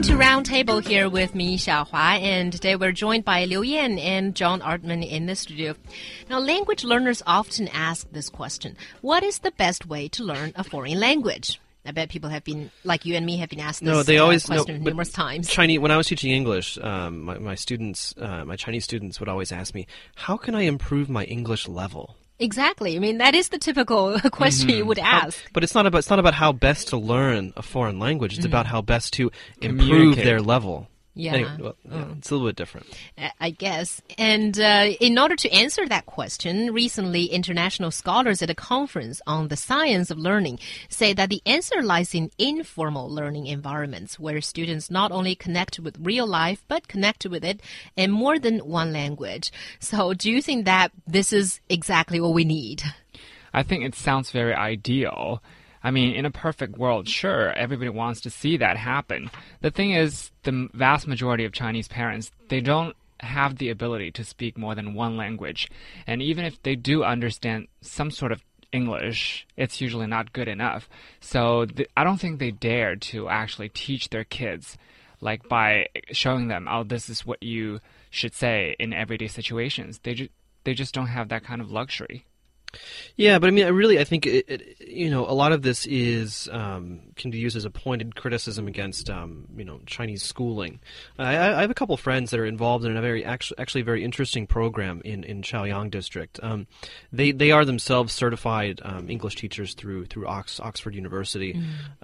to Roundtable here with me, Xiaohua, and today we're joined by Liu Yan and John Artman in the studio. Now, language learners often ask this question: what is the best way to learn a foreign language? I bet people have been, like you and me, have been asked this question numerous times. Chinese, when I was teaching English, my Chinese students would always ask me, how can I improve my English level? Exactly. I mean, that is the typical question you would ask. But it's not about how best to learn a foreign language. It's about how best to improve their level. Yeah. Anyway, it's a little bit different. I guess. And in order to answer that question, recently international scholars at a conference on the science of learning say that the answer lies in informal learning environments where students not only connect with real life, but connect with it in more than one language. So do you think that this is exactly what we need? I think it sounds very ideal. I mean, in a perfect world, sure, everybody wants to see that happen. The thing is, the vast majority of Chinese parents, they don't have the ability to speak more than one language. And even if they do understand some sort of English, it's usually not good enough. So I don't think they dare to actually teach their kids, like by showing them, oh, this is what you should say in everyday situations. They just don't have that kind of luxury. Yeah, but I mean, I think a lot of this is can be used as a pointed criticism against Chinese schooling. I have a couple friends that are involved in a very interesting program in Chaoyang district. They are themselves certified English teachers through Oxford University,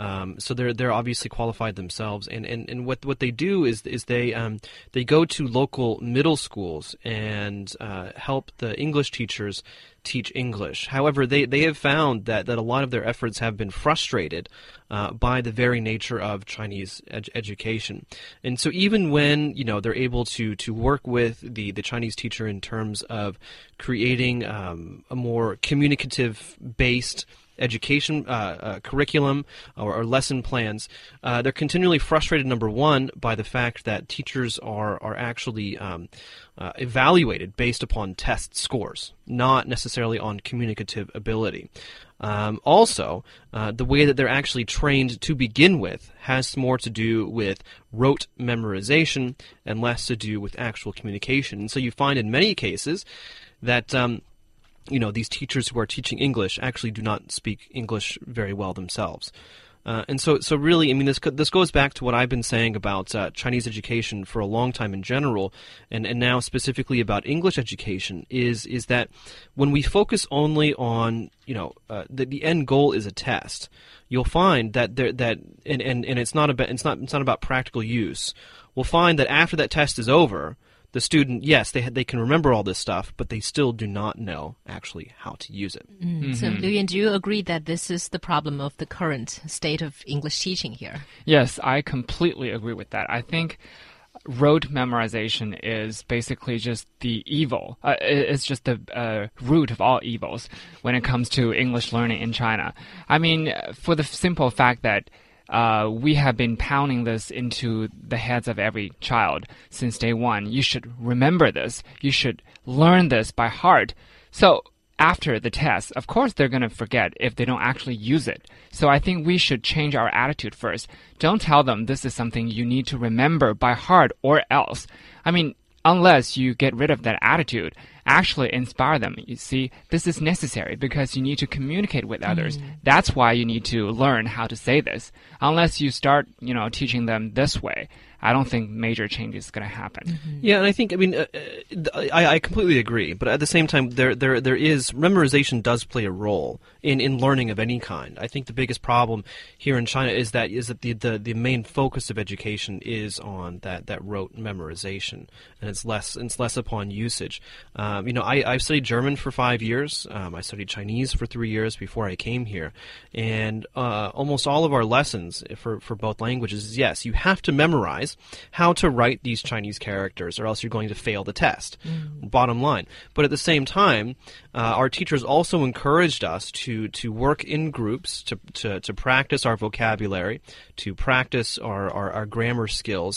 so they're obviously qualified themselves. And what they do is they go to local middle schools and help the English teachers teach English. However, they have found that a lot of their efforts have been frustrated by the very nature of Chinese education. And so even when they're able to work with the Chinese teacher in terms of creating a more communicative based education curriculum or lesson plans, they're continually frustrated, number one, by the fact that teachers are actually evaluated based upon test scores, not necessarily on communicative ability. Also, the way that they're actually trained to begin with has more to do with rote memorization and less to do with actual communication. And so you find in many cases that these teachers who are teaching English actually do not speak English very well themselves. And so really, I mean, this goes back to what I've been saying about Chinese education for a long time in general, and now specifically about English education, is that when we focus only on, the end goal is a test, you'll find that it's not about practical use. We'll find that after that test is over, the student, yes, they can remember all this stuff, but they still do not know actually how to use it. So, Liu Yan, do you agree that this is the problem of the current state of English teaching here? Yes, I completely agree with that. I think rote memorization is basically just the evil. It's just the root of all evils when it comes to English learning in China. I mean, for the simple fact that we have been pounding this into the heads of every child since day one. You should remember this. You should learn this by heart. So after the test, of course they're going to forget if they don't actually use it. So I think we should change our attitude first. Don't tell them this is something you need to remember by heart or else. I mean, unless you get rid of that attitude, actually inspire them. You see, this is necessary because you need to communicate with others. That's why you need to learn how to say this. Unless you start, teaching them this way, I don't think major change is going to happen. Yeah, and I think, I completely agree. But at the same time, there is memorization does play a role in learning of any kind. I think the biggest problem here in China is that the main focus of education is on that rote memorization, and it's less upon usage. I've studied German for 5 years. I studied Chinese for 3 years before I came here, and almost all of our lessons for both languages is, yes, you have to memorize how to write these Chinese characters, or else you're going to fail the test. Bottom line. But at the same time, our teachers also encouraged us to work in groups, to practice our vocabulary, to practice our grammar skills,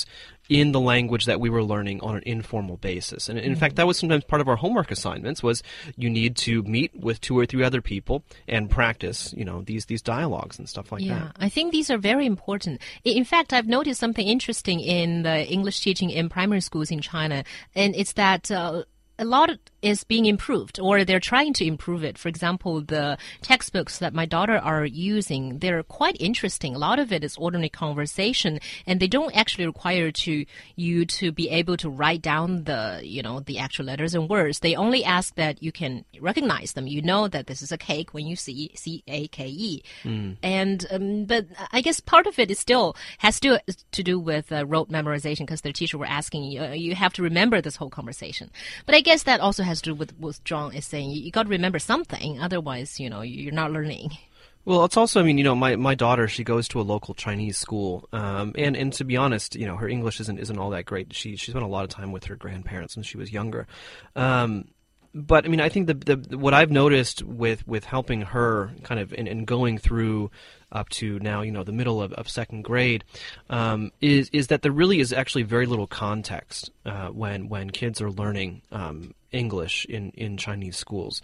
in the language that we were learning on an informal basis. And in fact, that was sometimes part of our homework assignments, was you need to meet with 2 or 3 other people and practice, these dialogues and stuff like that. Yeah, I think these are very important. In fact, I've noticed something interesting in the English teaching in primary schools in China, and it's that a lot is being improved, or they're trying to improve it. For example, the textbooks that my daughter are using, they're quite interesting. A lot of it is ordinary conversation, and they don't actually require you to be able to write down the actual letters and words. They only ask that you can recognize them. You know that this is a cake when you see C-A-K-E. And but I guess part of it is still has to do with rote memorization, because their teacher were asking you have to remember this whole conversation. But I guess that also has to do with what John is saying. You got to remember something, otherwise, you're not learning. Well, it's also, my daughter, she goes to a local Chinese school, and to be honest, her English isn't all that great. She spent a lot of time with her grandparents when she was younger. But I think what I've noticed with helping her kind of and going through up to now, the middle of second grade, is that there really is actually very little context when kids are learning English in Chinese schools.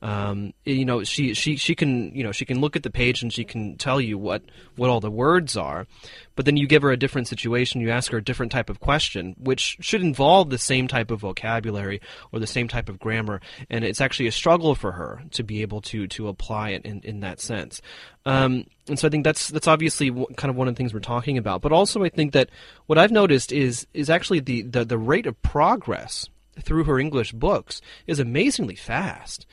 She can look at the page and she can tell you what all the words are, but then you give her a different situation, you ask her a different type of question, which should involve the same type of vocabulary or the same type of grammar, and it's actually a struggle for her to be able to apply it in that sense. And so I think that's obviously kind of one of the things we're talking about. But also I think that what I've noticed is actually the rate of progress through her English books is amazingly fast.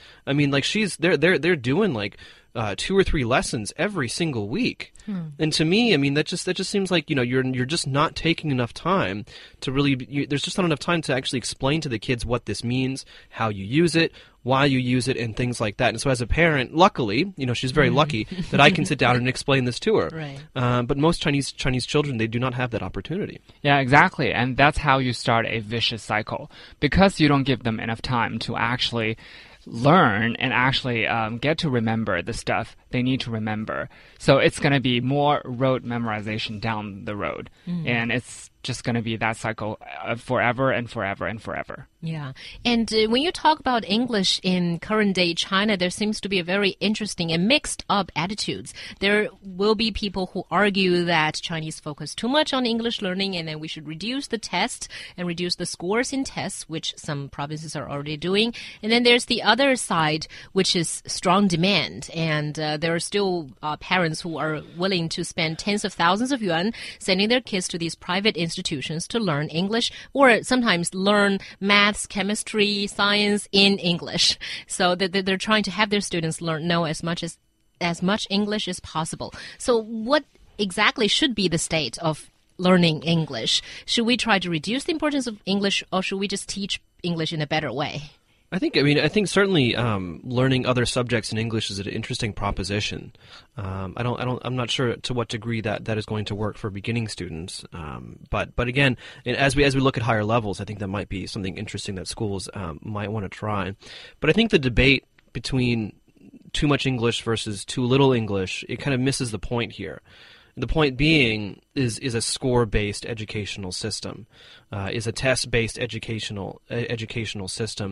They're doing like 2 or 3 lessons every single week. And to me, that just seems like you're just not taking enough time to really. There's just not enough time to actually explain to the kids what this means, how you use it, why you use it, and things like that. And so as a parent, luckily, she's very lucky that I can sit down and explain this to her. Right. But most Chinese children, they do not have that opportunity. Yeah, exactly. And that's how you start a vicious cycle, because you don't give them enough time to actually learn and actually get to remember the stuff they need to remember. So it's going to be more rote memorization down the road. And it's just going to be that cycle forever and forever and forever. Yeah. And when you talk about English in current day China, there seems to be a very interesting and mixed up attitudes. There will be people who argue that Chinese focus too much on English learning, and then we should reduce the tests and reduce the scores in tests, which some provinces are already doing. And then there's the other side, which is strong demand. And there are still parents who are willing to spend tens of thousands of yuan sending their kids to these private institutions to learn English, or sometimes learn maths, chemistry, science in English. So they're trying to have their students know as much English as possible. So what exactly should be the state of learning English? Should we try to reduce the importance of English, or should we just teach English in a better way? I think certainly learning other subjects in English is an interesting proposition. I'm not sure to what degree that is going to work for beginning students. But again, as we look at higher levels, I think that might be something interesting that schools might want to try. But I think the debate between too much English versus too little English, it kind of misses the point here. The point being is a score-based educational system, is a test-based educational system,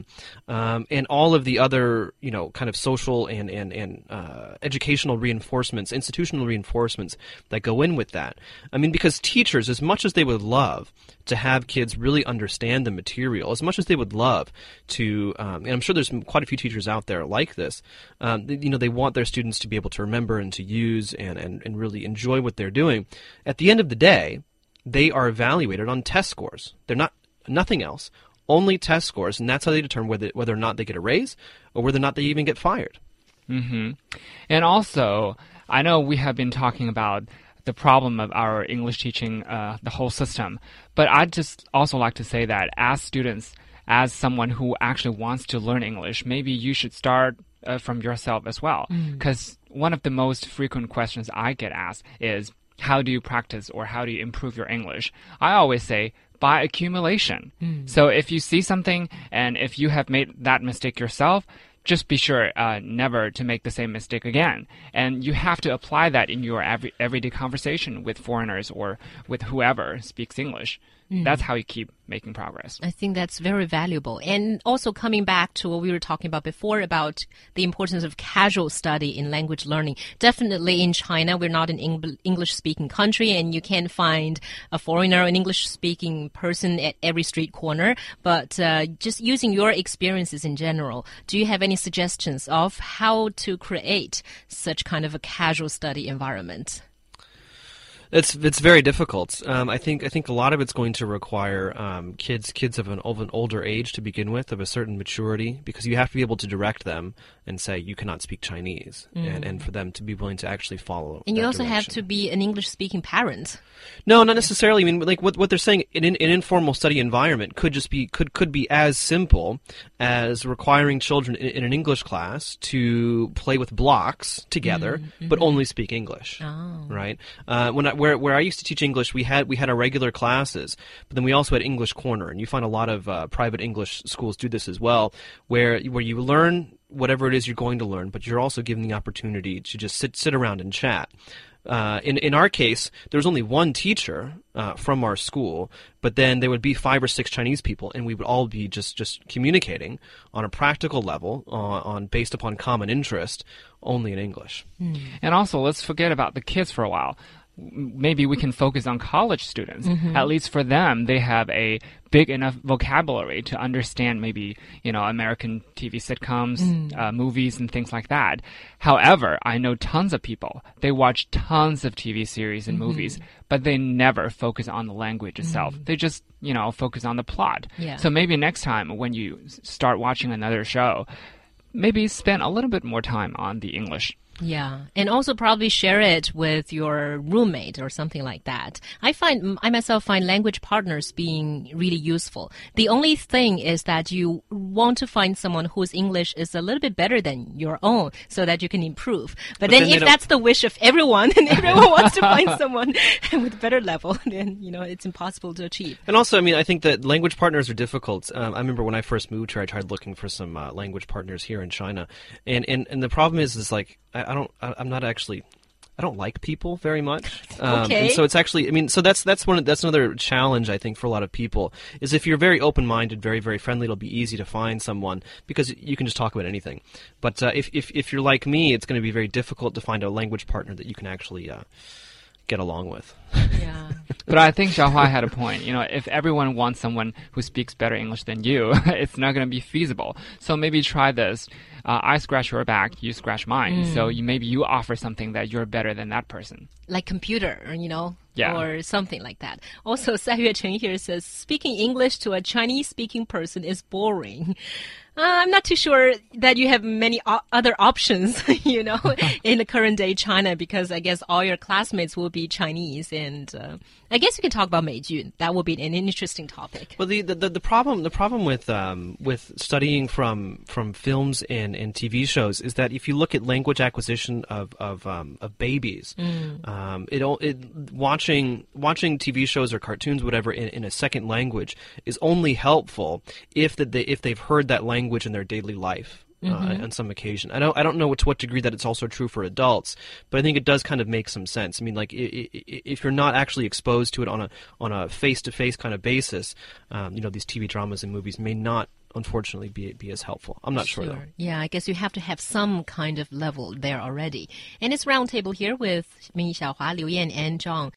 and all of the other kind of social and educational reinforcements, institutional reinforcements that go in with that. Because teachers, as much as they would love to have kids really understand the material, as much as they would love to, and I'm sure there's quite a few teachers out there like this, they want their students to be able to remember and to use and really enjoy what they're doing. At the end of the day, they are evaluated on test scores. They're not nothing else, only test scores, and that's how they determine whether or not they get a raise or whether or not they even get fired. Mm-hmm. And also, I know we have been talking about the problem of our English teaching, the whole system, but I'd just also like to say that as students, as someone who actually wants to learn English, maybe you should start from yourself as well. Because one of the most frequent questions I get asked is, how do you practice or how do you improve your English? I always say, by accumulation. So if you see something and if you have made that mistake yourself, just be sure never to make the same mistake again. And you have to apply that in your everyday conversation with foreigners or with whoever speaks English. That's how you keep making progress. I think that's very valuable. And also coming back to what we were talking about before about the importance of casual study in language learning. Definitely in China, we're not an English-speaking country, and you can find a foreigner, an English-speaking person at every street corner. But just using your experiences in general, do you have any suggestions of how to create such kind of a casual study environment? It's very difficult. I think a lot of it's going to require kids of an older age to begin with, of a certain maturity, because you have to be able to direct them and say you cannot speak Chinese, and for them to be willing to actually follow. And you also direction. have to be an English-speaking parent. No, not necessarily. I mean, like what they're saying, an informal study environment could just be could be as simple as requiring children in an English class to play with blocks together, but only speak English. Oh. Right? Where I used to teach English, we had our regular classes, but then we also had English Corner, and you find a lot of private English schools do this as well, where you learn whatever it is you're going to learn, but you're also given the opportunity to just sit around and chat. In our case, there was only one teacher from our school, but then there would be 5 or 6 Chinese people, and we would all be just communicating on a practical level, based upon common interest, only in English. And also, let's forget about the kids for a while. Maybe we can focus on college students. At least for them, they have a big enough vocabulary to understand maybe, American TV sitcoms, movies, and things like that. However, I know tons of people, they watch tons of TV series and movies, but they never focus on the language itself. They just, focus on the plot. Yeah. So maybe next time when you start watching another show, maybe spend a little bit more time on the English. Yeah, and also probably share it with your roommate or something like that. I myself find language partners being really useful. The only thing is that you want to find someone whose English is a little bit better than your own so that you can improve. But then if that's the wish of everyone and everyone wants to find someone with a better level, then, it's impossible to achieve. And also, I mean, I think that language partners are difficult. I remember when I first moved here, I tried looking for some language partners here in China. And the problem is like, I don't like people very much. Okay. And so it's actually, I mean, so that's another challenge, I think, for a lot of people, is if you're very open-minded, very, very friendly, it'll be easy to find someone because you can just talk about anything. But if you're like me, it's going to be very difficult to find a language partner that you can actually get along with. Yeah. But I think Xiaohua had a point. If everyone wants someone who speaks better English than you, it's not going to be feasible. So maybe try this. I scratch your back, you scratch mine. So maybe you offer something that you're better than that person. Like computer, Yeah. or something like that. Also, Sai Yue Chen here says, speaking English to a Chinese-speaking person is boring. I'm not too sure that you have many other options, in the current day China, because I guess all your classmates will be Chinese, and I guess you can talk about Meijun. That will be an interesting topic. Well, the problem with studying from films and TV shows is that if you look at language acquisition of babies, watching TV shows or cartoons, whatever, in a second language is only helpful if they've heard that language in their daily life. On some occasion. I don't know to what degree that it's also true for adults, but I think it does kind of make some sense. I mean, like if you're not actually exposed to it on a face-to-face kind of basis, these TV dramas and movies may not, unfortunately, be as helpful. I'm not sure though. Yeah, I guess you have to have some kind of level there already. And it's Roundtable here with Ming Xiaohua, Liu Yan, and Zhang.